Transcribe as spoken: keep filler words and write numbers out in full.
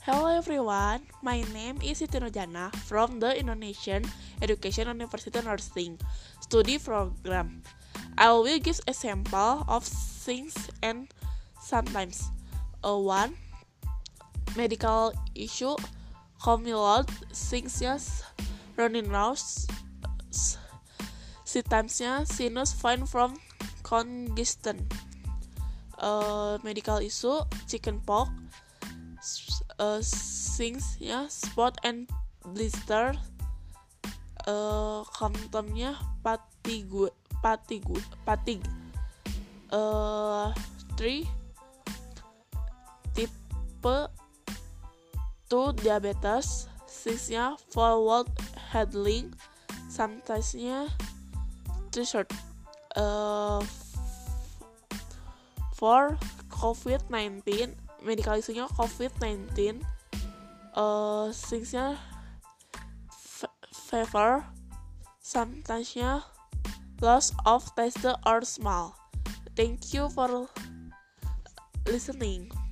Hello everyone, my name is Siti Nurjana from the Indonesian Education University Nursing Study Program. I will give a sample of things and sometimes. Uh, one, medical issue, commute, things running nose, symptomsnya sinus fine from congestion. Uh, medical issue, chickenpox, uh, things ya spot and blister, uh, symptomnya fatigue fatigue fatigue. Uh, three, type two diabetes, six-nya forward handling, sometimes-nya t-shirt. Uh, for covid nineteen, medical isunya covid nineteen, uh, things-nya f- fever, sometimes-nya loss of taste or smell. Thank you for listening.